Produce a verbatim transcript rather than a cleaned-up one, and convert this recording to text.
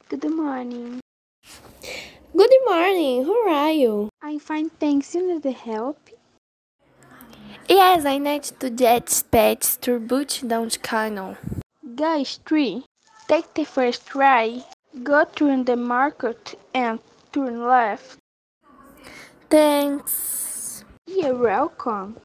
Good morning. Good morning, how are you? I'm fine, thanks. You need the help? Yes, I need to get pets to boot down the canal. Guys, three. Take the first try. Go through the market and turn left. Thanks. You're welcome.